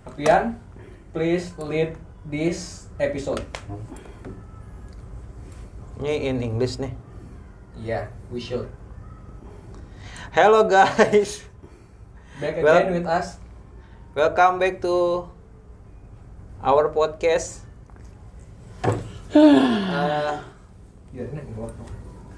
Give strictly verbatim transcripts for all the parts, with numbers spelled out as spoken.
Apian, please lead this episode. Ini in English nih. Yeah, we should. Hello guys. Back Well- again with us. Welcome back to our podcast. Uh, Yeah, ini nggak apa.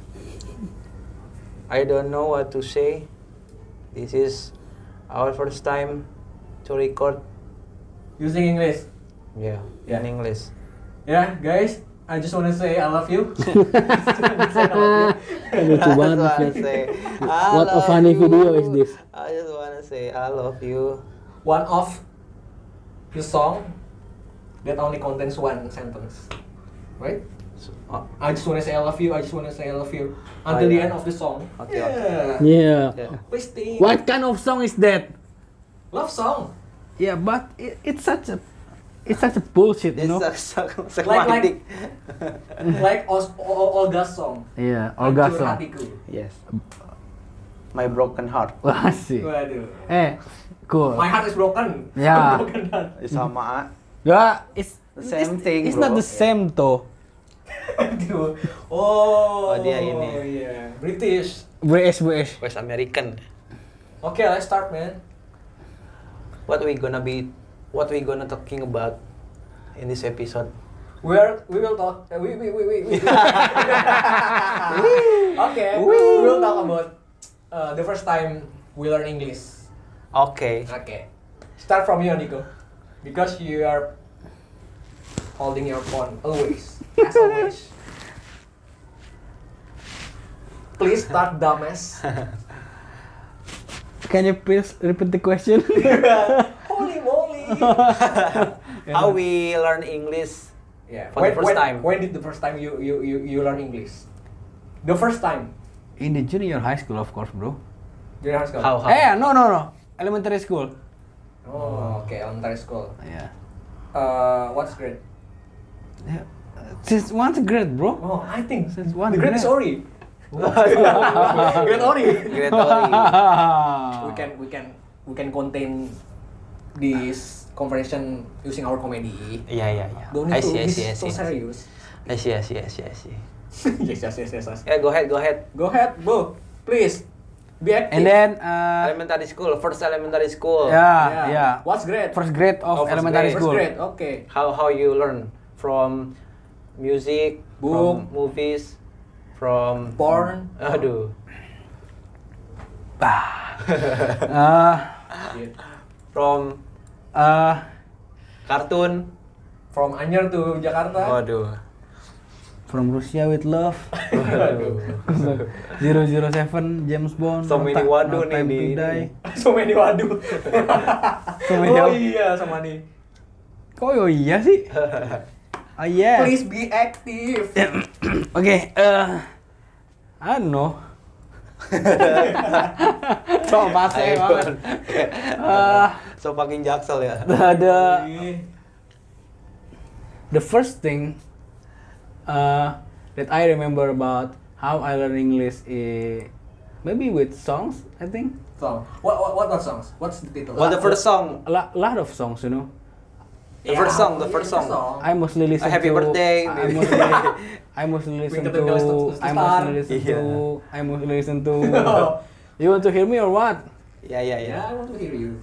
I don't know what to say. This is our first time to record. Using English. Yeah, Yeah. in English. Yeah, guys, I just wanna say I love you. Just wanna say I love you. Lucu banget I just wanna Fir. say, I What a love funny you. video is this? I just wanna say I love you. One of the song that only contains one sentence, right? So, oh, I just wanna say I love you. I just wanna say I love you Oh, until the yeah. end of the song. Okay, Yeah. Yeah. yeah. Please think. What kind of song is that? Love song. Yeah, but it, it's such a it's such a bullshit, you This know. is so, so Like- romantic. Like Os- O- O- Olga's song. Yeah, Olga Hancur song. Hatiku. Yes. My broken heart. Wah sih. Waduh. Eh, cool. My heart is broken. Yeah. Broken heart. Sama. Yeah, it's The same it's, thing, It's bro. not the same though. Aduh. Oh. Oh, dia ini. Iya. British. British British. West American. Okay, let's start, man. What we gonna be? What we gonna talking about in this episode? We're we will talk. Uh, we we we we. we. Okay. We will talk about uh, the first time we learn English. Okay. Okay. Start from you, Nico, because you are holding your phone always, as always. Please start, dumbass. Can you please repeat the question? Holy moly! How we learn English? Yeah. For the when, first when, time. When did the first time you you you, you learn English? The first time. In the junior high school, of course, bro. Junior high school. How how? Eh, no no no. Elementary school. Oh, okay. Elementary school. Yeah. Uh, what's grade? Yeah. Since once grade, bro. Oh, I think Since one the grade is grade. Ori. Grade Ori. Great Ori. we can we can we can contain this conversation using our comedy. Yeah yeah yeah. Don't I need to see I be see I so see. serious. I see I see I see I see. yes, yes, yes, yes, yes. Yeah, go ahead go ahead. Go ahead, bro. Please be active. And then uh, Elementary school, first elementary school. yeah, yeah. What's grade? First grade Oh, of first elementary grade. First school. grade. Okay. How how you learn from music, Book. from movies, from Porn. Aduh. Uh, Yeah. From uh, kartun. From Anyer to Jakarta. Waduh. From Russia with Love. zero zero seven James Bond. So No many Ti- waduh No nih Time di to ini. Die. so many waduh. So many oh apa? iya, sama nih. Kok oh iya sih? Ah yeah. Please be active. Oke, eh I don't know. So base banget. Eh, So fucking jaksel ya. the, the the first thing uh, that I remember about how I learn English is maybe with songs, I think. Song. What what what what songs? What's the title? What the first song? A lot, lot of songs, you know. The first song, the yeah, first song. I mostly listen Happy to birthday, I maybe. mostly, I mostly listen Twinkle, to twinkle, little I star. mostly listen Yeah. to I mostly listen to You want to hear me or what? Ya ya ya. Yeah, I want to hear you.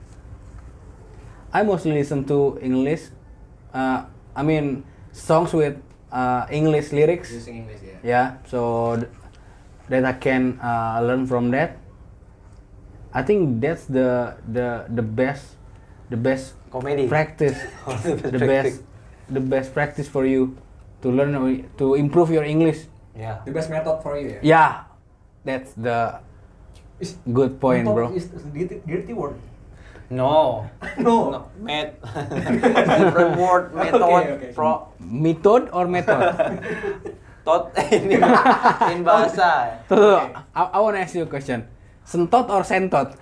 I mostly listen to English. Uh, I mean songs with uh, English lyrics. Using English, yeah. Yeah, so th- that I can uh, learn from that. I think that's the the the best the best Komedi. practice. Oh, the best the practice. best the best practice for you to learn or- to improve your English. Ya. The best method for you, yeah. Yeah, that's the Is good point, method bro. Is is dirty, dirty word. No. No. No. Met. Different word. Method. Okay, okay. Pro. Method or method? Tot. Ini in bahasa. Tuh, tuh, Okay. I, I wanna ask you a question. Sentot or sentot?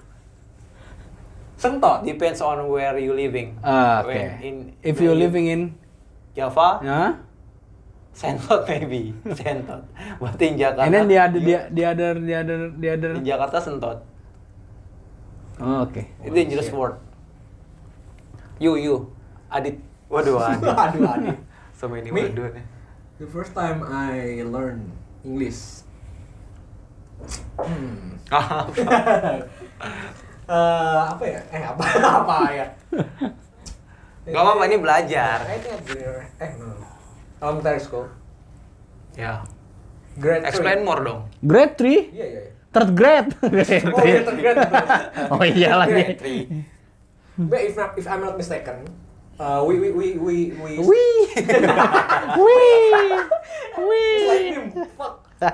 Sentot. Depends on where you living. Ah, When okay. in If when you're you- living in, Java, yeah, Sentot maybe, Sentot. But in Jakarta, and then the other, you- the, the other, the other, the other. in Jakarta Sentot. Oh, okay. Itu dangerous shit. word. You, you. Adit. Waduh, Adit. Aduh, Adit. So many Me? word. The first time I learned English. Hmm. Eh, apa ya? Eh apa apa ya? Gak apa-apa, ini belajar. I think at junior. Eh no. Elementary school. Ya. Grade Explain three. more dong. Grade three? Iya iya. iya. Third grade. Oh iya third grade. betul. Oh iya lagi. Grade three. But if not, if I'm not mistaken, uh, we we we we we. Wih. Wih. It's like Wih. him. Fuck.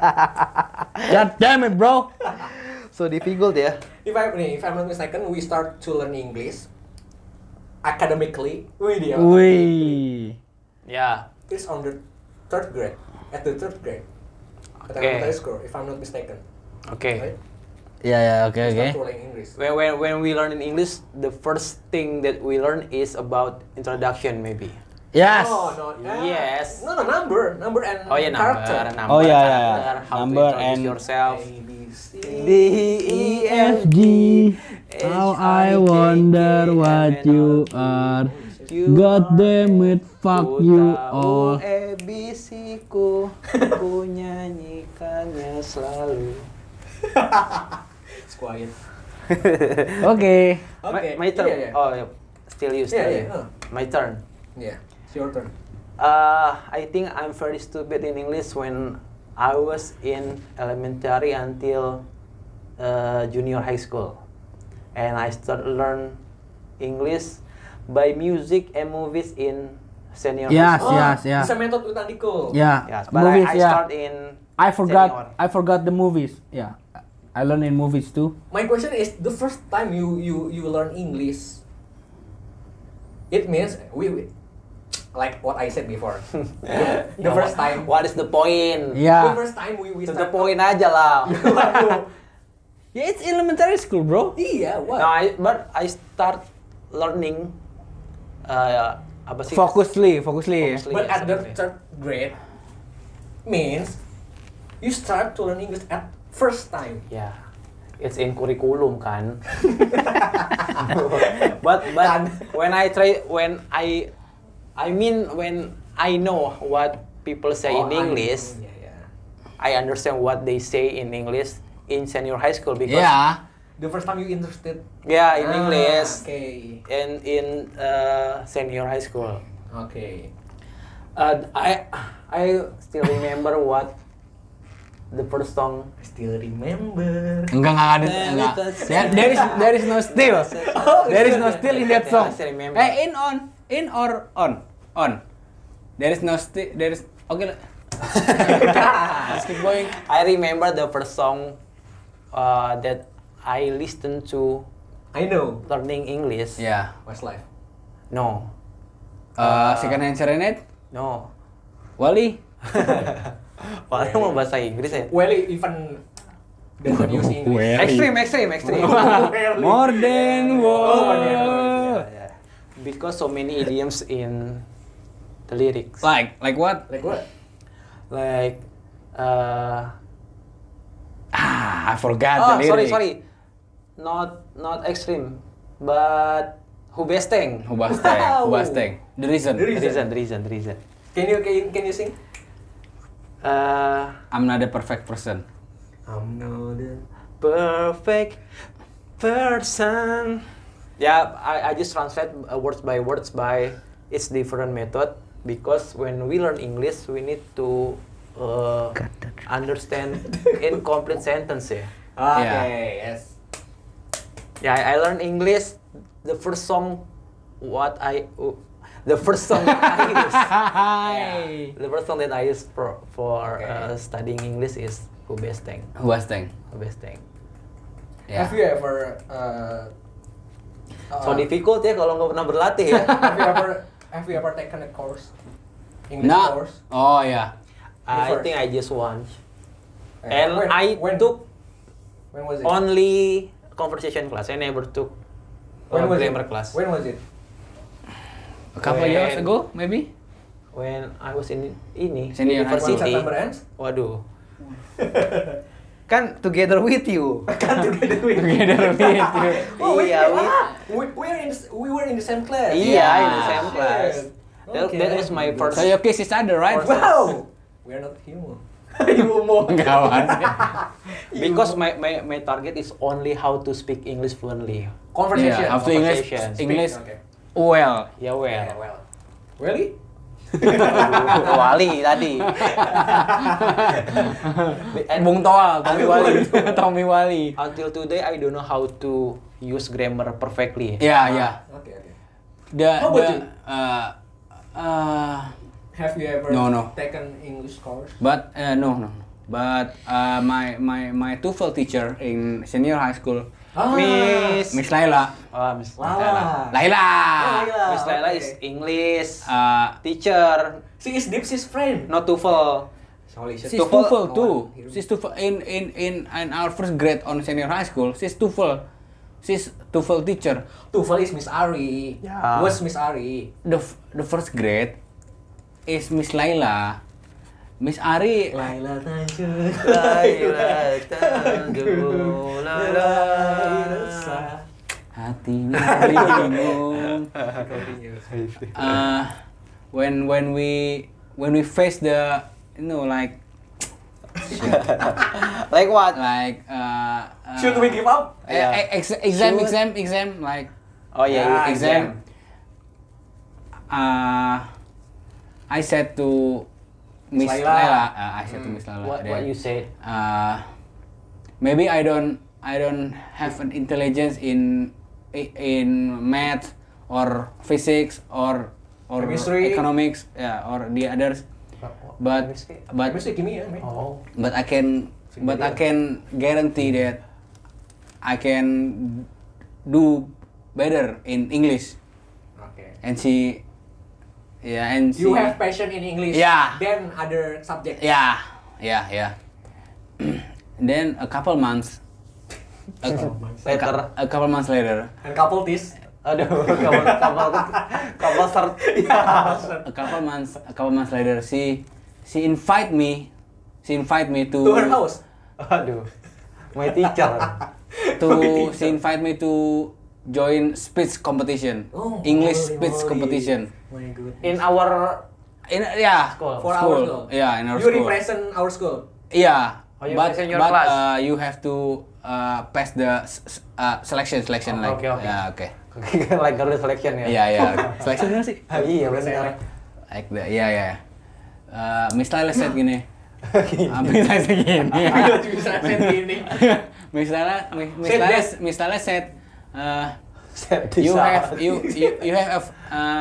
God damn it, bro. So difficult ya. If I nih, if I'm not mistaken, we start to learn English academically. Wih dia. Wih. Ya. It's on the third grade. At the third grade. At Okay. elementary school, if I'm not mistaken. Oke. Right? Ya ya oke We oke. start to learn English. When, when when we learn in English, the first thing that we learn is about introduction maybe. Yes. Oh no. uh, Yes. No no number, number and Oh ya number, character. number, Oh, ya, ya. karakter, how Number to introduce and- yourself. A B C D E F G How I wonder what you are. God damn it, fuck you all. A B C ku, ku nyanyikannya selalu. It's quiet. Oke. Okay. My, my turn. Yeah, yeah. Oh, yeah. Still you, still Yeah, you. yeah, uh. My turn. Yeah. It's your turn. Uh, I think I'm very stupid in English when I was in elementary until uh, junior high school, and I started learn English by music and movies in senior Yes, high school. yes, yeah. Bisa method with Andiko. Yeah. Yes, but Movies, I, I yeah. start in I forgot. senior. I forgot the movies. Yeah. I learn in movies too. My question is, the first time you you you learn English, it means we, we like what I said before. the Yeah, first what- time. What is the point? The Yeah. first time we we To the start. point aja lah. Waduh. Yeah, it's elementary school, bro. Iya, what? No, I, but I start learning uh, apa sih? Fokusly, fokusly. Fokusly. But Yeah, at the something. third grade means you start to learn English at first time. Ya, it's in kurikulum kan. but but when I try when I I mean when I know what people say Oh, in I- English, yeah, yeah. I understand what they say in English in senior high school because Yeah. The first time you interested. yeah in Ah, English Okay. and in uh, senior high school. Okay. Uh, I I still remember what the first song. I still remember. Enggak enggak ada enggak. There, there is there is no still. There is no still in that song. I still remember. Eh, in on, in or on, on. There is no still. There is okay. Let's keep going. I remember the first song uh, that I listened to I know. learning English. Yeah. Westlife. No, Uh, second hand serenade. no. Wally. Padahal mau bahasa Inggris ya. Well, even doesn't use English. Well. Extreme, extreme, extreme. Well, More than Oh, more than words. words, Yeah, yeah. Because so many idioms in the lyrics. Like like what? Like what? Like, uh, Ah, I forgot oh the sorry lyric. sorry, not not extreme, but Hubesteng. Hubasteng. Hubasteng. The reason. The The reason. reason, the reason, the reason. Can you can you, can you sing? Uh, I'm not a perfect person. I'm not the perfect person. Yeah, I, I just translate uh, words by words by its different method because when we learn English we need to uh, understand incomplete sentence ya. Okay, yes. Yeah, I, I learned English. The first song, what I, uh, the first song that I use, Hi. the first song that I use for for Okay. uh, studying English is Hubesteng. Hubasteng. Hubesteng. Yeah. Have you ever uh, So uh, difficult ya kalau nggak pernah berlatih ya. have you ever have you ever taken a course? English No. course? Oh yeah. I first. think I just once. Uh, And when- I when, took when was it? only conversation class. I never took when uh, was grammar it? class. When was it? A couple When- years ago, maybe. When I was in ini Senior high When university. September ends? Waduh. Kan together with you. Kan together with Together with you. Oh, wait, Iya, wait, we- ah, we, we, are in the, s- we were in the same class. Iya, in the Yeah. same class. That, Okay. that was my first. So you kiss each other, right? Wow! We are not human. Human. Kawan. Because my, my my target is only how to speak English fluently. Conversation. Yeah, how to English, Conversation. English Okay. well. Ya well. Yeah, well. Really? Wali tadi. And Bung Toal, Tommy Aduh, Wali. aduh. Tommy Wali. until today I don't know how to use grammar perfectly. Yeah, yeah. Okay, okay. The How about the you? uh, uh, Have you ever No, no. taken English course? but uh, no, no, no. But uh, my my my TOEFL teacher in senior high school, Ah, Miss Miss Laila. Oh, Miss Lala. Laila. Oh, Laila. Miss Laila okay. is English Uh, teacher, She is Dipsy's friend. not TOEFL. Sorry, she's TOEFL- TOEFL too. Oh, She's TOEFL in in in in our first grade on senior high school. She's TOEFL. She's TOEFL teacher. TOEFL is Miss Ari. Yeah. Was Miss Ari. The f- the first grade is Miss Laila. Miss Ari. Laila Tanjung. Laila Tanjung, Laila. Hatinya bingung. Uh, when when we when we face the you know like Like what? like uh, uh Should we give up? eh, Yeah. eh, ex- exam Should. exam exam like Oh yeah, Yeah, yeah. exam. Uh, I said to Miss Laila. Laila. Uh, I said to Miss Laila. What that, what you said? uh, maybe I don't I don't have an intelligence in in math or physics or or Chemistry. economics, yeah, or the others. But Chemistry? but Chemistry, kimia, man. Oh. but I can but I can guarantee that I can do better in English. Okay. And she, yeah, and she, You have passion in English. Yeah. Then other subject. yeah, yeah, yeah. Then a couple months, a, a, Later. cou- a couple months later, And couple this. Aduh, kapal kapal kapal start. a couple months, a couple months later, she she invite me, she invite me to To her house. Aduh. My teacher. to she invite me to join speech competition, Oh, English holy speech moly. competition. My goodness. In our In yeah, School. For our school. Yeah, in our you school. represent our school. Yeah, Oh, you but present your but class. uh, you have to uh, pass the s- s- uh, selection selection Oh, like okay, okay. yeah okay like Garuda selection ya. yeah yeah selection bener sih Ah, iya benar. like the yeah yeah uh, Miss Laila said gini uh, Miss Laila said gini Bisa set gini. Miss Laila Miss Miss Said Laila that. Miss Laila said uh, Set you this have out. you you you have uh,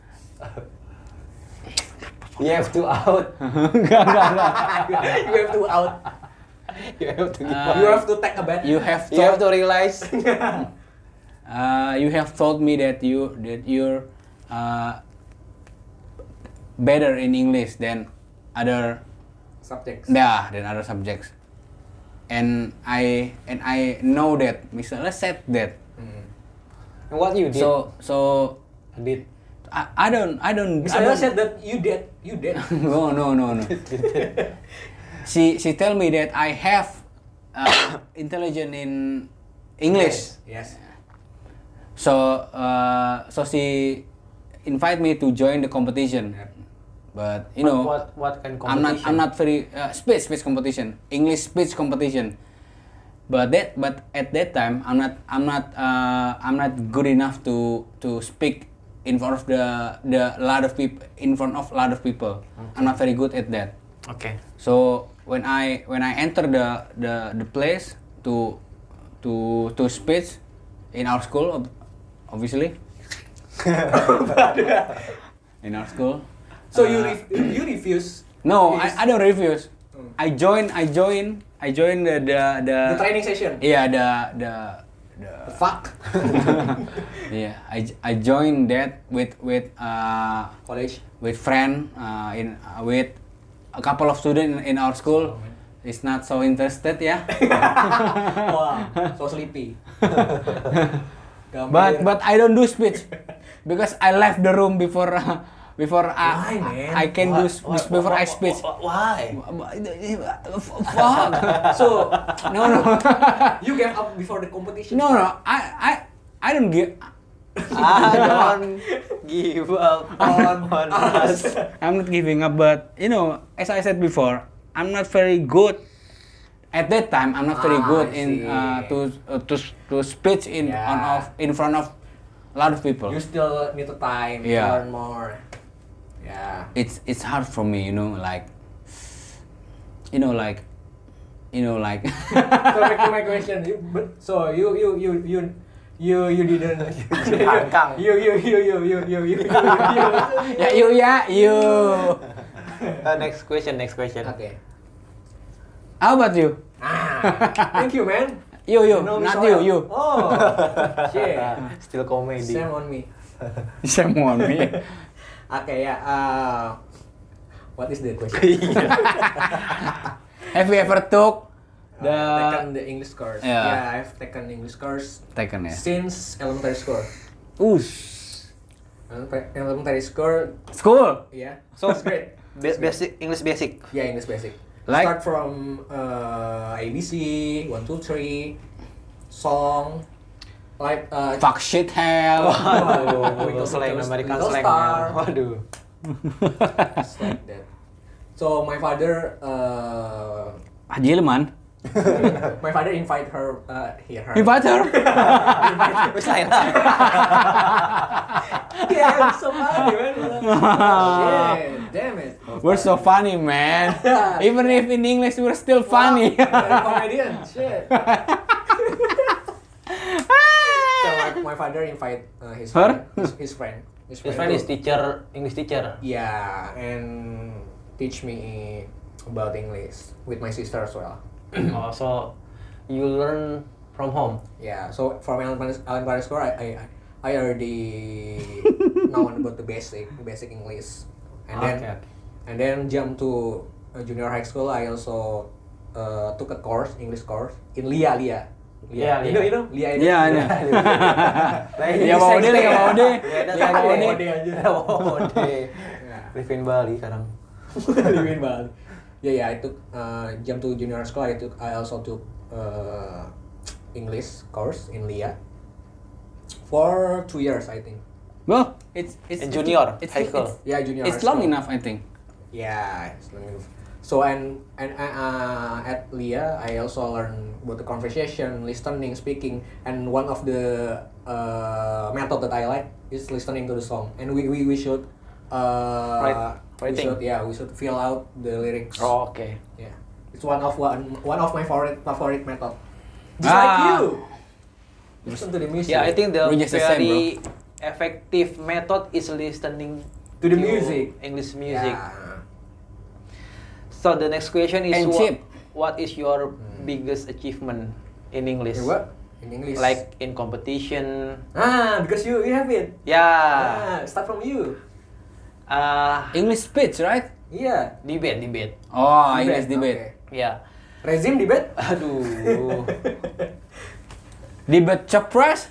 You have to out. enggak enggak enggak You have to out. You have to. Uh, You have to take a bath. you have You have told to realize. uh, you have told me that you that you're uh, better in English than other Subjects. yeah than other subjects, and I and I know that Mister Laila said that. Hmm. What you did? So so did. I, I don't I don't Mister I Laila don't- said that you dead. You dead. no no no no. she she tell me that I have uh, intelligence in English. Yes. So uh, so she invite me to join the competition, Yeah. but you know what what kind of I'm not competition? I'm not very uh, speech speech competition, English speech competition. But that but at that time I'm not I'm not uh, I'm not good enough to to speak in front of the the lot of people in front of a lot of people. I'm not very good at that. Okay. So when I when I enter the the the place to to to speech in our school, ob- obviously in our school. So you uh, ref- you refuse. no, this- I, I don't refuse. Hmm. I join I join I join the the the, The training session. yeah the the the The fuck. yeah I I joined that with with uh College. with friend uh, in uh, with a couple of students in our school. Is not so interested ya. Wow. So sleepy. But but I don't do speech because I left the room before uh, before I Why, man? I can do What- s- what- before what- I speak. what- Why? Fuck. So No, no. you gave up before the competition? No, no. I I I don't give. I don't give up on, on us. I'm not giving up, but you know, as I said before, I'm not very good. At that time, I'm not very Ah, good I in see. uh, to uh, to to speech in Yeah. on of in front of a lot of people. You still need the time Yeah. to learn more. Yeah. It's it's hard for me, you know, like you know, like you know, like. So back to my question. You, but so you you you you you you didn't. Hangkang. you you you you you you you you you. Ya you ya you. Uh, next question, next question. Okay. How about you? Ah, thank you, man. You you, know me not so you well. you. Oh, shit. Still comedy. Shame on me. Shame on me. Okay, yeah. Uh, what is the question? Have you ever took Uh, the taken the English course. Yeah. Yeah, I've taken English course taken ya? since elementary school. Ush. Elementary elementary school, School. yeah. So- It's great. Ba- basic English basic. Yeah, English basic. Like- Start from uh, A B C, one, two, three, song, like uh, Fuck shit hell. Waduh, Twinkle, slang twinkle, American little slang. star. ya. Waduh. just like that. So my father, uh, Haji Leman. my father invite her, uh, here her. Invite her. Wis lain lah. Yeah, it's so funny, man. Shit, damn it. We're so funny, man. Even if in English we're still funny. Wow, very comedian. Shit. So my, my father invite uh, his Her? friend, his, his friend, his His friend to- is teacher, English teacher. Yeah, and teach me about English with my sister as well. Oh, so you learn from home. Yeah, so from elementary elementary school, I I, I already know about the basic basic English, and then Okay, okay. and then jump to uh, junior high school. I also uh, took a course, English course in Lia Lia. Yeah, you know, Lia. you know, Lia itu. Iya, iya. Lain Ya mau deh, ya mau deh. Beda Ya sama mau ini. deh aja. Ya mau deh. Yeah. Live in Bali sekarang. Living Bali. Yeah, yeah. I took uh, jump to junior school. I took. I also took uh, English course in Lia for two years, I think. Well, it's it's In junior, it's, high school. It's, Yeah, junior. it's high long school. enough, I think. Yeah, it's long enough. So and and uh, at Lia, I also learn about the conversation, listening, speaking, and one of the uh, method that I like is listening to the song. And we we, we should uh, Write- we writing. should yeah we should fill out the lyrics. Oh, okay. Yeah, it's one of one one of my favorite favorite method. Just Ah. like you. Listen to the music. Yeah, I think the We're just the same, very effective method is listening To the music. English music. Yeah. So the next question is And what, cheap. what is your biggest achievement in English? In what? In English. Like in competition? ah, because you you have it. Yeah. Ah, start from you. Uh, English speech, right? Iya. debate, debate. Oh, English debate. Yeah. Rezim debate? Aduh. Debate capres?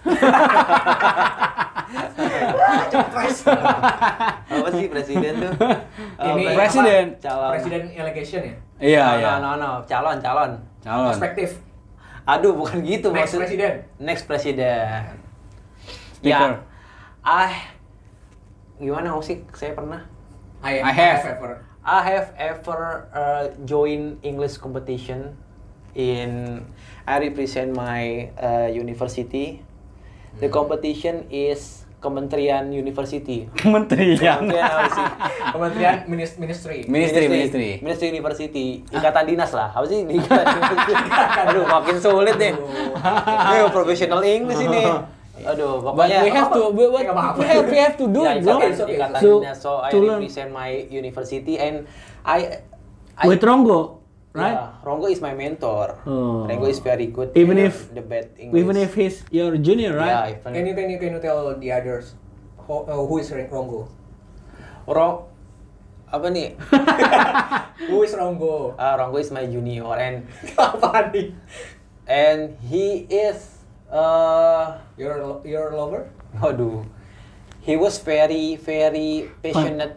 Capres. Apa sih presiden tuh? Uh, Ini presiden. apa? Calon. Presiden election ya? Iya, no, iya. no, no, no, calon, calon. Calon. Perspektif. Aduh, bukan gitu Next maksud- presiden. Next presiden. Speaker. Ya. Ah, gimana sih? Saya pernah. I, I have. ever. I have ever uh, joined English competition in. I represent my uh, university. The competition is Kementerian University. Kementerian. Kementerian apa sih? Kementerian Minis- Ministry. Ministry, ministry. Ministry University. Ikatan dinas lah. Apa sih? Ikatan dinas. Aduh, makin sulit deh. Ini professional English ini. Aduh, But pokoknya. we have to, we, we, Nggak apa-apa. we have, we have to do Ya, it, bro. ikatan, It's okay, ikatan So, dinas. So I to learn- represent my university and I. I With Rongo, right? Yeah, Rongo is my mentor. Oh. Rongo is very good. Even in if- the bad English. Even if he's your junior, Yeah, right? even Can you can you can you tell the others who, uh, who is Rongo? Ro apa nih? Who is Rongo? Ah, Rongo is my junior and Apa nih? and he is uh Your lo- your lover? Waduh. He was very very passionate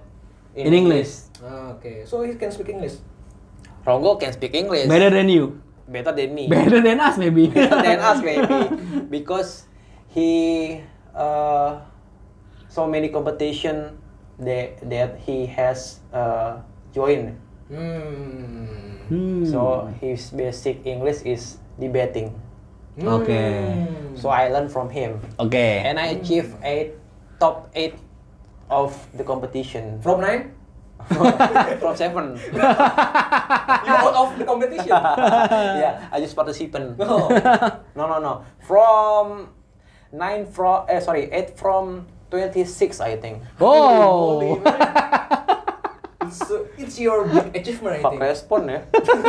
In English. Ah, okay, so he can speak English. Ronggo can speak English. Better than you. Better than me. Better than us maybe. Better than us maybe. Because he uh, so many competition that that he has uh, joined. Hmm. Hmm. So his basic English is debating. Okay. So I learned from him, Okay. and I achieved eight top eight of the competition From nine? from seven. You out of the competition? Yeah, I just participant. No. No, no, no. From nine from eh sorry eight from twenty six I think. Oh. Holy man. It's, uh, it's your big achievement, I Fuck think. respon ya.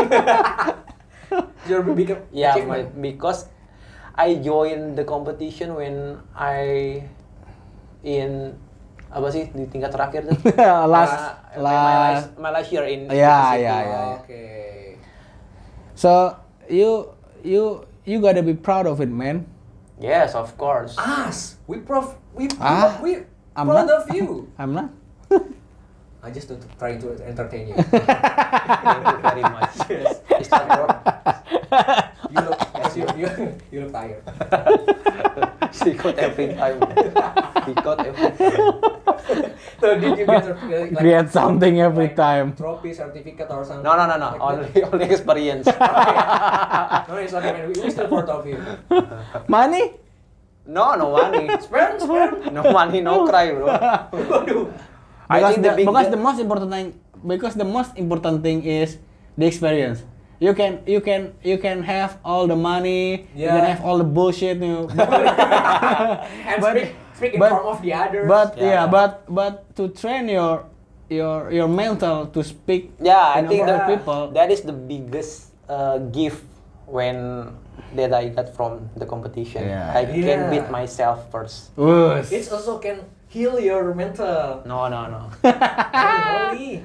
It's your big Yeah, achievement. my- because I joined the competition when I in apa sih di tingkat terakhir tuh? last Uh, my, my last. last my last year in Yeah, university. yeah, yeah. Okay. So you you you gotta be proud of it, man. Yes, of course. Us, we prof, we Ah, we I'm proud not. of you. I'm not. I just to, to try to entertain you. Thank you very much. Yes. It's not work. You look, yes, you, you, you look tired. Secret every time. Secret every time. So did you get uh, like Get something every like time. trophy, certificate, or something? No, no, no, no. like Only that? only experience. No, it's okay, man. We, we still proud of you. Money? No, no money. Sperm, sperm. No money, no cry, bro. Waduh. I Because think the, the big because the most important thing because the most important thing is the experience. You can you can you can have all the money, you can Yeah. have all the bullshit, you know. But, And But- speak, speak in but- front of the others. but Yeah. yeah, but but to train your your your mental to speak Yeah, I in think front of that people. that is the biggest uh, gift when that I got from the competition. Yeah. I can Yeah. beat myself first. Wus. It also can heal your mental. No, no, no. Holy.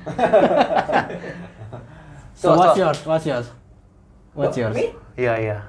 so, So- what's so- yours? What's yours? What's What, yours? Me? Yeah, yeah.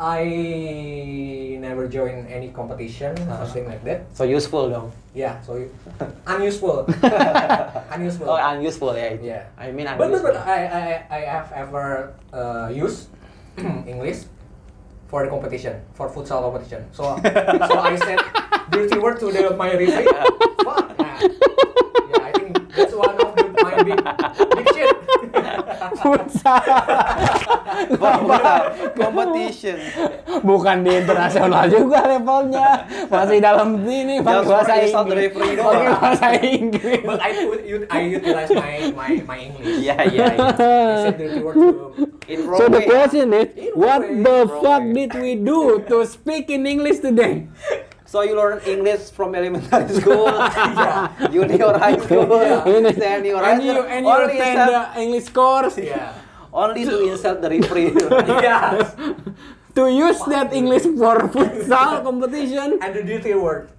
I never join any competition or something like that. So useful dong. Yeah, so you, unuseful. Unuseful. Oh, unuseful ya. Yeah. I mean But, but, unuseful. but I, I, I have ever uh, used English for the competition, for futsal competition. So, so I said dirty word to the my referee. Fuck. Yeah. Yeah, I think that's one of the, my big, big shit. Futsal. Futsal competition. Bukan di internasional juga levelnya, masih dalam ini pakai Just bahasa for insult the Inggris. referee Pakai doang. bahasa Inggris. But I put, ut- I utilize my, my, my English. Yeah, yeah, yeah. I said dirty word to. In So the Broadway. question is, In what Norway, the Norway. fuck did we do to speak in English today? So you learn English from elementary school, Yeah. junior high school, Yeah. senior high And you school. and you only attend insult, the English course Yeah. only to insult the referee. Yeah. to use that English for futsal competition. And the dirty word.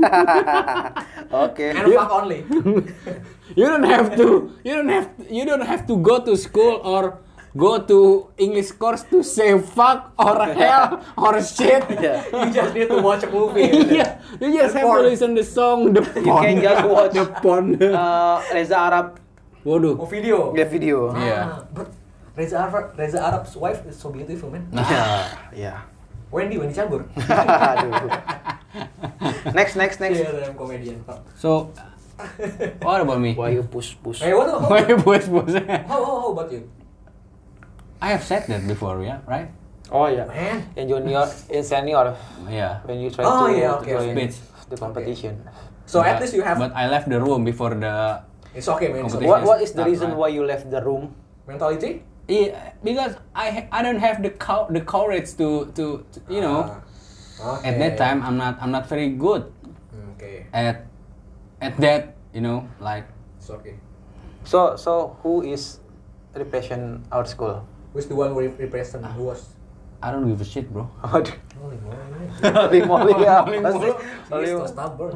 Okay. And fuck only. You don't have to. You don't have. You don't have to go to school or go to English course to say fuck or hell or shit. Yeah. You just need to watch a movie. Yeah, you just have to Porn. listen the song, the You can just watch the porn. uh, Reza Arab Oh, Waduh. video. the video. Yeah. Ah, but Reza Arab, Reza Arab's wife is so beautiful, man. Yeah, yeah. Wendy, Wendy Cagur. Aduh. Next, next, next. Yeah, dalam comedian. Fuck. So, what about me? Why you push, push? Hey, what? How, Why bos bos? how, how, how about you? I have said that before, yeah, right? Oh yeah. Man. In junior, in senior, Yeah. when you try Oh, to, yeah, to okay, join okay. the competition. So But- at least you have. But I left the room before the. It's okay, man. It's okay. Competition. What What is the Start, reason right? why you left the room? Mentality? Yeah, because I ha- I don't have the co- the courage to, to to you know. Ah, okay. At that time, I'm not I'm not very good Hmm, okay. at at that, you know, like. It's okay. So, so who is represent our school? Who's the one who re- represent? Who was? I don't give a shit, bro. Holy moly. Holy moly ya, Holy pasti. moly. Holy He's so moly. stubborn.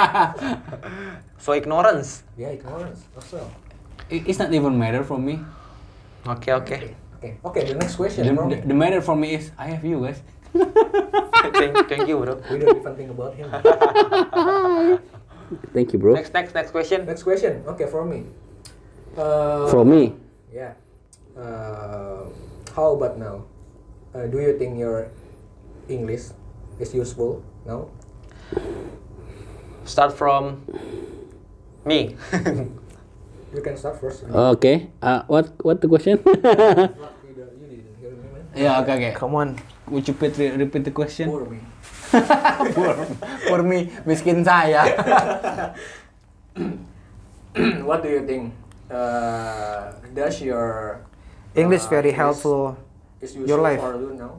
So ignorance. Yeah, ignorance. Also. It- It's not even matter for me. Okay, okay. Okay. Okay. The next question. The, from the, me. the matter for me is I have you guys. thank, thank you, bro. We don't even think about him. Thank you, bro. Next, next, next question. Next question. Okay, for me. Uh, From me. Yeah. Uh, how about now? Uh, do you think your English is useful now? Start from me. You can start first. Okay. Uh, what what the question? You didn't hear me, man. Yeah. Okay. Okay. Come on. Would you repeat, repeat the question? For me. for, for me, miskin saya. What do you think? Uh, does your English uh, very English helpful. is useful your life. for you now?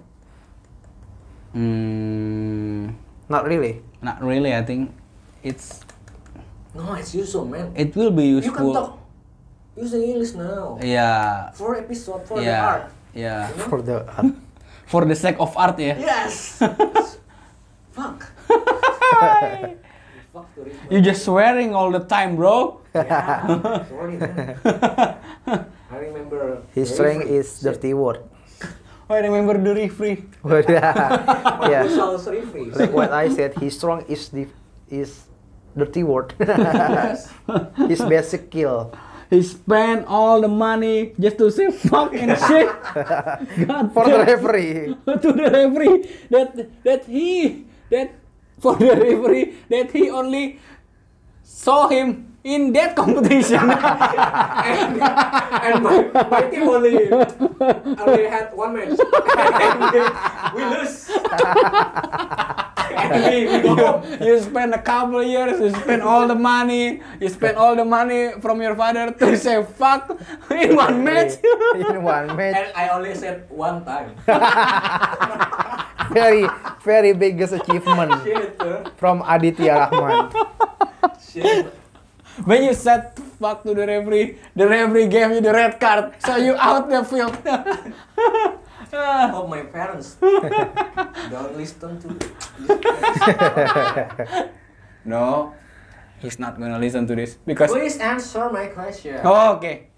Hmm. Not really. Not really. I think it's No, it's useful, man. it will be You can useful. talk using English now. Yeah. For episode, for the Yeah. art. Yeah. You know? For the For the sake of art, ya. Yes. Fuck. Fuck to read. You just swearing all the time, bro. Yeah. Sorry, man. I remember. his the strength referee is said, dirty word. I remember the referee. yeah. Marshall's referee. Like what I said, his strong is the is dirty word. Yes. His basic skill. He spent all the money just to say fuck and shit. God For the damn. referee. To the referee that that he that for the referee that he only saw him in that competition. and and my, my team only only had one match. And we, we lose. And we, we go home. You spend a couple of years, you spend all the money, you spend all the money from your father to say fuck in one match. In one match. And I only said one time. Very, very biggest achievement Shit, uh, from Aditya Rahman. shit. When you said fuck to the referee, the referee gave you the red card, so you out the field. Oh, my parents. Don't listen to this. No, he's not gonna listen to this because. Please answer my question. Oh, okay.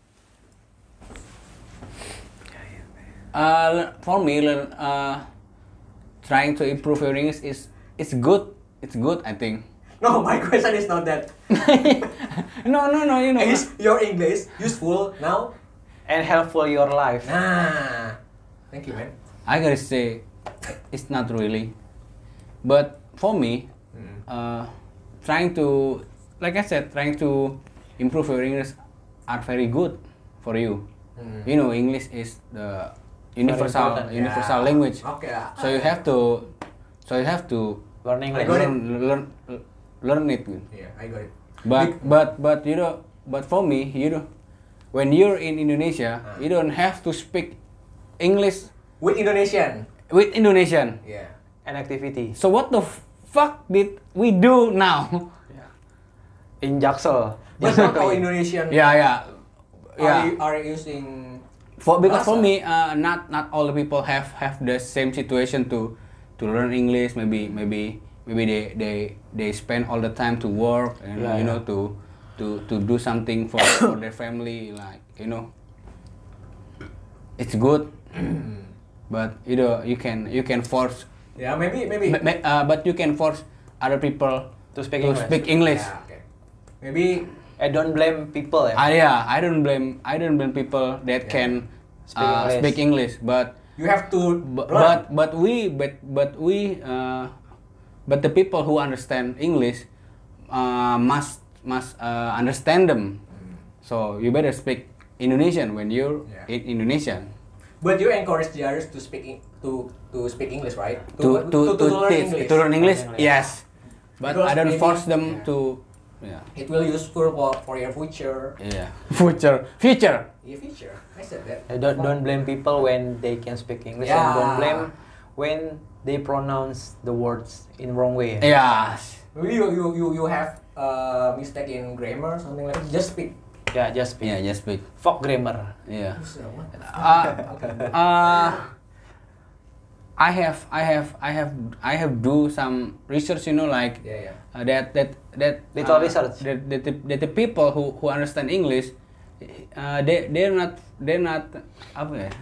Uh, for me, learn, uh, trying to improve your English is it's good. It's good, I think. No, my question is not that. no, no, no. You know. Is your English useful now? And helpful your life. Ah, thank you, man. I gotta say, it's not really. But for me, Mm. uh, trying to, like I said, trying to improve your English are very good for you. Mm. You know, English is the universal important, universal Yeah. language. Okay lah. So you have to, so you have to Learn English. got it. learn, learn, learn it. Yeah, I got it. But Big- but but you know, but for me, you know, when you're in Indonesia, Ah. you don't have to speak English With Indonesian. with Indonesian. Yeah. And activity. So what the fuck did we do now? In Jaksel. But not all Indonesian yeah, yeah, are, yeah. are using. For because for bahasa. me, uh, not not all the people have have the same situation to to learn English. Maybe maybe maybe they they they spend all the time to work and Yeah, you know yeah. to to to do something for for their family, like you know. It's good, but you know you can you can force, Yeah, maybe maybe. ma- ma- uh, but you can force other people To speak to English. speak English. Yeah, okay. Maybe. I don't blame people ya. Ah, yeah, I don't blame I don't blame people that Yeah. can Speak uh, English. speak English, but You have to but learn. but, but we but but we uh, but the people who understand English uh, must must uh, understand them. So you better speak Indonesian when you're Yeah. in Indonesia. But you encourage the others to speak in, to to speak English, right? To to to, learn teach English. to learn English, English. yes. But Because I don't maybe- force them yeah. to. Yeah. It will useful for, for your future. Yeah. Future. Future. Yeah, future. I said that. I don't don't blame people when they can speak English, Yeah. and don't blame when they pronounce the words in wrong way. Yeah. Maybe you you you, you have uh, mistake in grammar something like that. Just speak. Yeah, just speak. Yeah. Just speak. Fuck grammar. Yeah. So, what? Uh, Okay. uh, I have, I have, I have, I have do some research. You know, like Yeah, yeah. uh, that that that Little uh, research. That, that, the, that the people who who understand English, uh, they they're not they're not apa ya?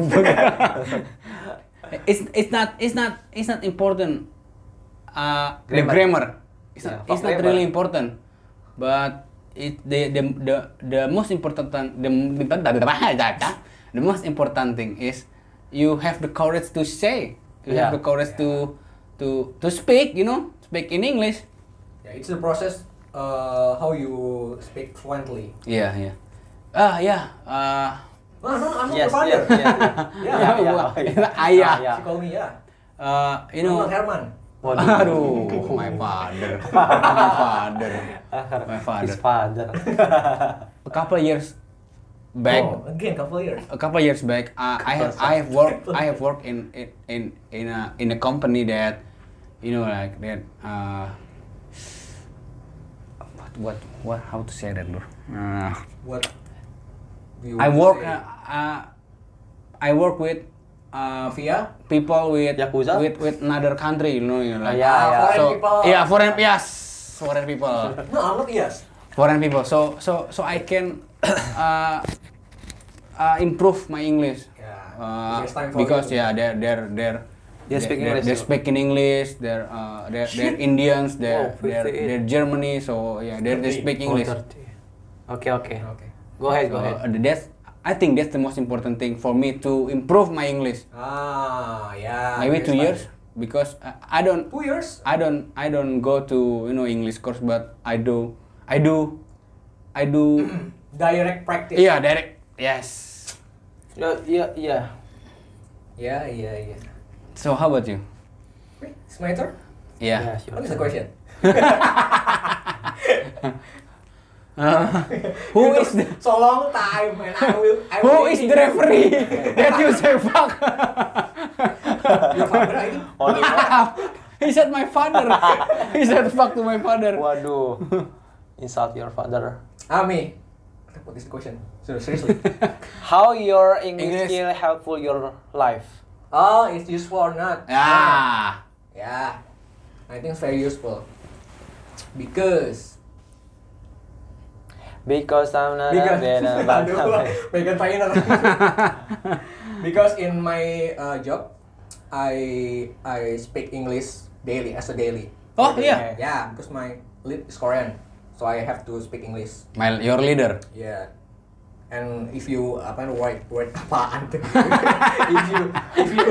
it's it's not it's not it's not important. Uh, the Grammar. grammar. It's Yeah, not fuck it's not grammar. really important. but it the the the, the most important thing the, the most important thing is you have the courage to say, you Yeah. have the courage to to to speak, you know, speak in English. Yeah, it's the process uh, how you speak fluently. Yeah, yeah. Ah, yeah. Uh, No, no, I'm not Yes, your father. yes, yes. Yeah, Yeah, yeah. yeah. Gua- oh, yeah. Ayah. Ah, yeah. She call me yeah. uh, you I'm know. not Herman. Waduh. Aduh, my father, my father, my His father. father. A couple years back, Oh, again, couple years. a couple years back, uh, I have I have worked I have worked in in in in a in a company that, you know, like that. Uh, what what what how to say that, bro? Uh, What? do you I want to work say? uh, uh, I work with uh, Mafia? people with Yakuza? with with another country, you know, you know, like yeah, yeah. Foreign so people. yeah, foreign yes, foreign people. No, I'm not yes. Foreign people, so so so I can uh, uh, improve my English. Yeah, Uh, it's time for because you. yeah, they're they're they're They speak they're, English They're too. speaking English. They're uh, they're, they're Indians. They're Wow, they're, fifty-eight. they're Germany. So yeah, they're they speak English. Oh, thirty. Okay, okay. Okay. Go ahead, go So, ahead. uh, that's I think that's the most important thing for me to improve my English. Ah, yeah. Maybe that's two fine. years because uh, I don't Two years? I don't I don't go to, you know, English course, but I do I do I do Direct practice. yeah direct yes. Yeah, yeah, yeah. Yeah, yeah, yeah. So how about you? Wait, it's my turn? Yeah. sure. What is the question? Uh, who You is took the so long time and I will I who will is waiting. the referee that you say fuck? Your father, I think. Only one. He said my father. He said fuck to my father. Waduh. Insult your father. Ah, me. What is the question? So, seriously. How your English, English. skill helpful your life? Oh, it's useful or not? Ah. Yeah. I think it's very useful. Because Because I'm not because a better but Aduh, Megan Trainor. Because in my uh, job, I I speak English daily as a daily. Oh, Daily. yeah. Yeah, because my lead is Korean, so I have to speak English. My your leader. Yeah. And if you apa word word apaan tuh? if you if you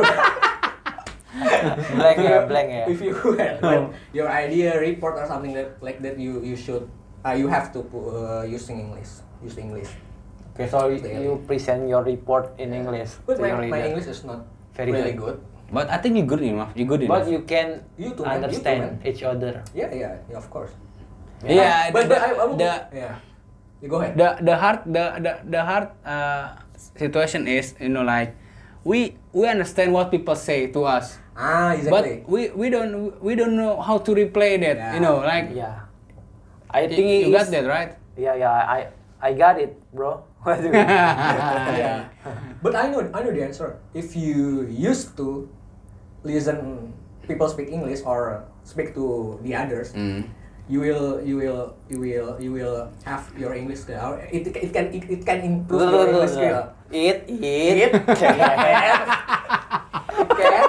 blank if ya, you- blank ya. If you had like, your idea report or something that like that, you you should uh, you have to uh, using English, use English. Okay, so you, Daily. you present your report in English. But to my, your my reader. English is not Very really good. good. But I think you good enough. You good enough. But you can You too, man. You too, understand man. each other. Yeah, yeah, yeah, of course. Yeah, but the, but I, I will, the yeah. You go ahead. the the hard the the the hard uh, situation is, you know, like we we understand what people say to us, Ah, but exactly. we we don't we don't know how to replay that. Yeah. You know, like Yeah. I y- think you it's- got that right. Yeah, yeah. I I got it, bro. What do you- Yeah. But I know I know the answer. If you used to listen people speak English or speak to the others, Mm. you will you will you will you will have your English skill. Or It, it can it, it can improve your English skill. Eat, It eat. can. It can.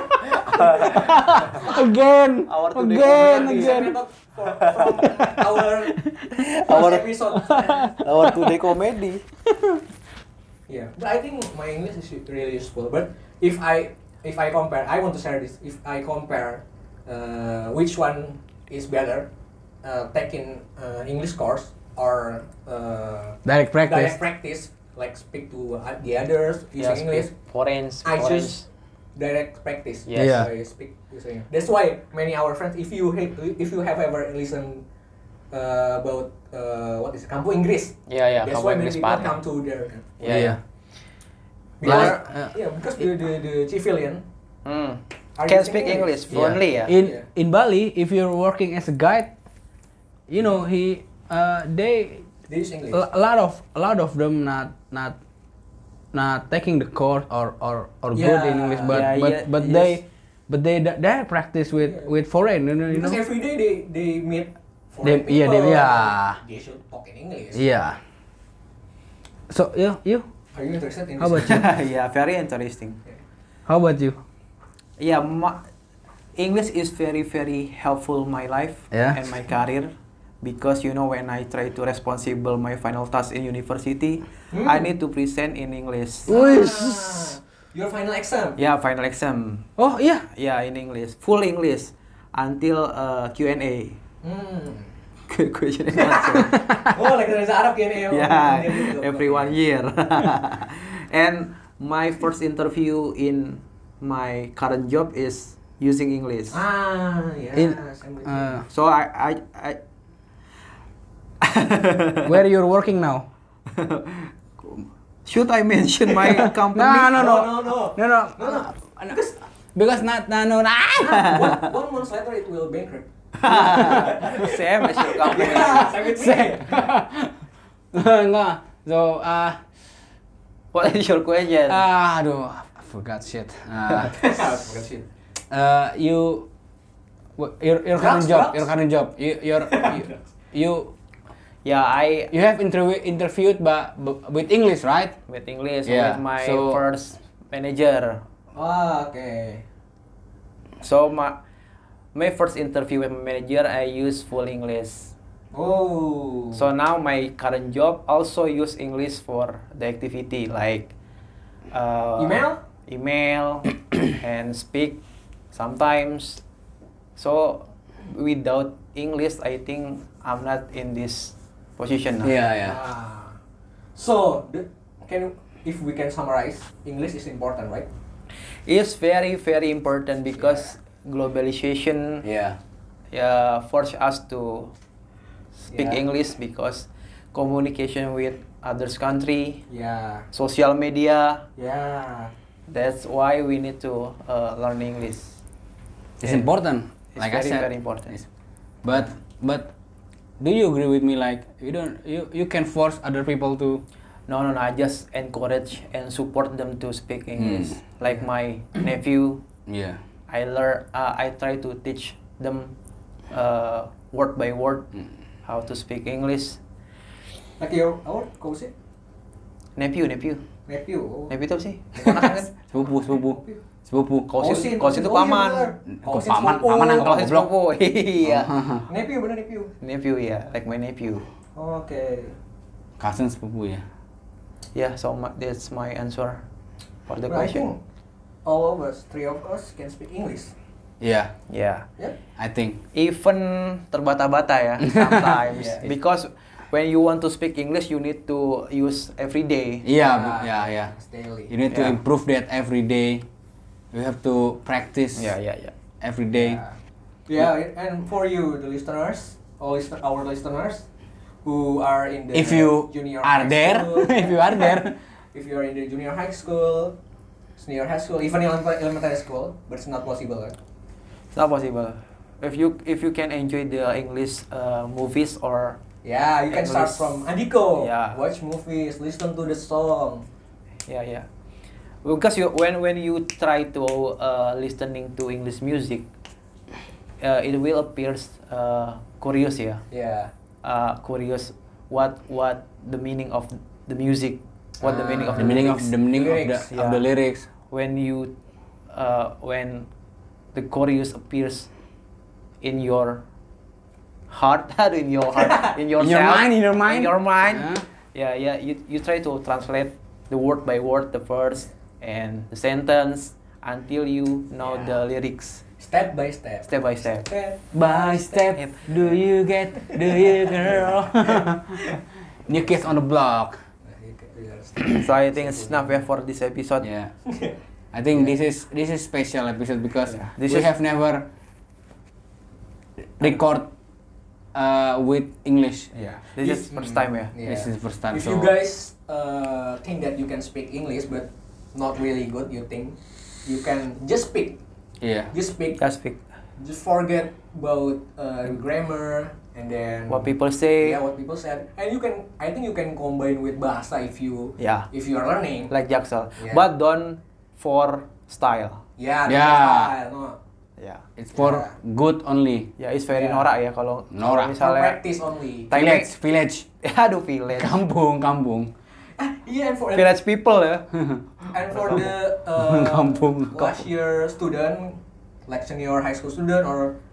Again, Our today again, comedy. again. From, from our Our- first episode. Our today comedy. Yeah, but I think my English is really useful. But if I if I compare, I want to share this. If I compare uh, which one is better, uh, taking uh, English course or uh, Direct practice. direct practice, like speak to uh, the others using Yeah, English. Orange. I orange. choose direct practice. Yes. Yeah. I speak using. That's why many our friends, if you have, if you have ever listened uh, about uh, what is it, Kampu Inggris. Yeah, yeah. That's Kamu why many English people partner. come to there. Yeah, yeah. Because, Like, uh, yeah, because the, the, the civilian Hmm. are Can using speak English Yeah. fluently ya. In Yeah. in Bali, if you're working as a guide, you know, he uh, they they use English. a lot of a lot of them not not not taking the course or or, or good in Yeah, English, but yeah, but yeah, but yes. they but they they practice with Yeah. with foreign, you know, you know. Because every day they they meet They- foreign yeah, people. they- yeah. They should talk in English. Yeah. So you you Are you interested in how this? about you? Yeah, very interesting. How about you? Yeah, ma- English is very very helpful my life Yeah. and my career because you know when I try to responsible my final task in university, Hmm. I need to present in English. Ah, your final exam. Yeah, final exam. Oh iya. Yeah, in English, full English until uh, Q and A. Hmm. Question and answer. Oh, like there's Arab Q and A. Yeah, every one year. And my first interview in my current job is using English. Ah, yeah. In- I'm with you. Uh, So I I, I where you're working now? should I mention my company? No, no, no, No, no, no. no, no. No, no. Because because not no no. no. one, one month later it will bankrupt. Same as your company. Yeah, same with me. Enggak. So uh, What is your question? ah, aduh, I forgot shit. Uh, Bukan shit. uh, you wh- your your current Drugs, job, drugs? your current job. You your you, you Yeah, I you have interview interviewed but with English, right? with English Yeah, with my so- first manager. Ah, okay. So my my first interview with my manager, I use full English. Oh. So now my current job also use English for the activity like uh, Email? email and speak sometimes. So without English, I think I'm not in this position now. Yeah, yeah. Ah. So, the, can you- if we can summarize, English is important, right? It's very very important because globalization Yeah. uh, force us to speak Yeah. English because communication with others country, Yeah. social media. Yeah. That's why we need to uh, learn English. It's Yeah. important. It's Like very I said. very important. It's- But but do you agree with me? Like you don't you you can force other people to. No, no, no. I just encourage and support them to speak English. Hmm. Like my nephew, Yeah. I learn. Uh, I try to teach them uh, word by word Hmm. how to speak English. Like your, our, kau sih? Nephew, nephew, Nephew. Oh. nephew itu apa sih? Ponakan kan? Sepupu sepupu sepupu. Kausin, Kausin, kausin itu oh iya, paman. bener. Kok Kausin paman? sepupu. Paman yang Kausin goblok. sepupu. Iya. Nephew, bener nephew. Nephew ya, like my nephew. Oke. Cousin sepupu ya. Yeah, so my, that's my answer for the But I think question. all of us, three of us, can speak English. Yeah, Yeah. Yeah. I think. Even terbata-bata ya sometimes Yeah. because when you want to speak English you need to use every day. Yeah, bu- yeah, yeah. It's daily. You need to Yeah. improve that every day. You have to practice Yeah, yeah, yeah. every day. Yeah. Yeah, and for you, the listeners, all listen, our listeners, who are in the If you junior are high there, school, if you are there, if you are in the junior high school, senior high school, even elementary, elementary school, but it's not possible, right? It's not possible. If you if you can enjoy the English uh, movies or Yeah, you can start English. from Andiko. Yeah. Watch movies, listen to the song. yeah, yeah. Because you when when you try to uh, listening to English music, uh, it will appears uh, curious ya. Yeah. Uh, curious what what the meaning of the music, what the meaning of the the, meaning of lyrics. the meaning of the Lyrics, of the yeah. lyrics. When you uh, when the chorus appears in your heart, in your heart, in your In your mind, in your mind. in your mind. Yeah. Yeah, yeah. You you try to translate the word by word, the verse and the sentence until you know Yeah. the lyrics Step by step. step by step. Step By step, do you get, do you girl? New Kids on the Block. So I think it's enough yeah, for this episode. Yeah. I think this is this is special episode because Yeah. This we is- have never record uh, with English. Yeah. This is If- first time ya. Yeah. This is first time. If so you guys uh, think that you can speak English but not really good, you think you can just speak, yeah. just speak, Just speak just forget about uh, grammar and then what people say. yeah what people said, and you can I think you can combine with bahasa if you Yeah. if you are learning. Like Jaksel, Yeah. but don't for style. Yeah. Yeah. style, no. Ya, It's for Yeah. good only. ya it's very Yeah. norak ya kalau kalau Norak. For misalnya practice only. Thai- Village, village, aduh village kampung, kampung. Yeah, and for village people ya. and for the uh, Kampung. last year student, like senior high school student or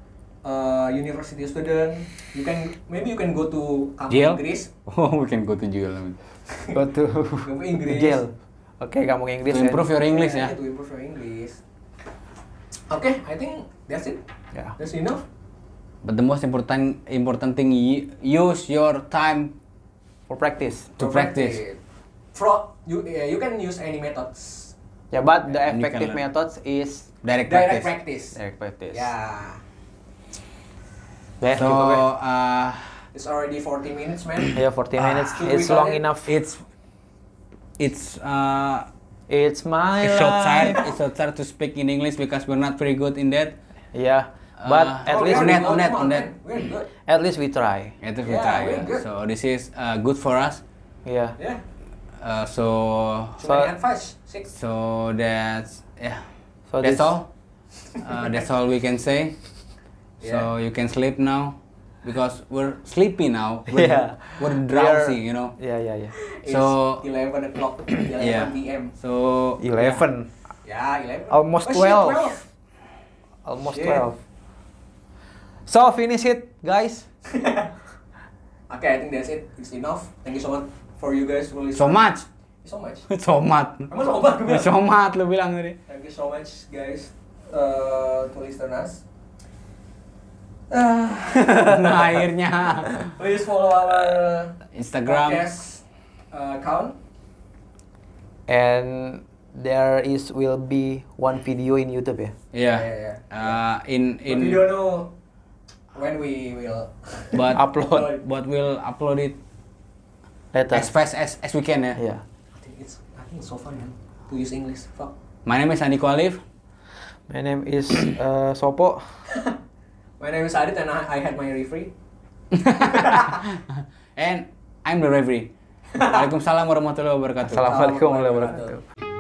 uh, university student, you can maybe you can go to kampus Jail? Inggris, Oh, we can go to jail. I mean. Go to kampus Inggris. jail. Oke, kamu Inggris To ya. improve your English Yeah, ya. to improve your English. Okay, I think that's it. Ya. That's enough. But the most important important thing, y- use your time For practice. to For practice. Fro, you yeah, you can use any methods. Ya, but the And you effective can learn. methods is Direct Direct practice. practice. direct practice. Yeah. Beh, So cukup ya. uh, It's already forty minutes, man. Ya, forty Ah, minutes. should It's we long call it? enough. it's it's uh, It's my it's so tired. life. It's so tired to speak in English because we're not very good in that. Ya, but Uh, at Oh, least we're on that, good. on that, Come on that. man. We're good. at least we try. It is we Yeah, try. we're yeah. good. So this is uh, good for us. Ya. Yeah. Uh, so Too So- many advice. Six. so that's yeah. So that's this- all. Uh, that's all we can say. So you can sleep now because we're sleepy now. We're, Yeah. we're We drowsy, are- you know. Ya, ya, ya. It's So- eleven o'clock. eleven Yeah. p m. So eleven. Yeah, eleven. Almost Oh, shit, twelve. twelve. Almost Shit. twelve. So finish it, guys. Okay, I think that's it. It's enough. Thank you so much for you guys for listening. so much, So much. somat, Emang sobat gue bilang? somat lu bilang tadi. Thank you so much, guys, uh, to listen us. Uh, Nah, akhirnya please follow our Instagram. podcast uh, account. And there is will be one video in YouTube ya. Yeah. Yeah, yeah, Uh, in But we in don't know when we will but Upload. but we'll upload it Later. as fast as as we can ya. Ya. I think it's I think it's so fun, man, to use English. Fuck. My name is Andiko Alif. My name is uh, Sopo. My name is Adit and I, I had my referee. And I'm the referee. Waalaikumsalam warahmatullahi wabarakatuh. Assalamualaikum warahmatullahi wabarakatuh.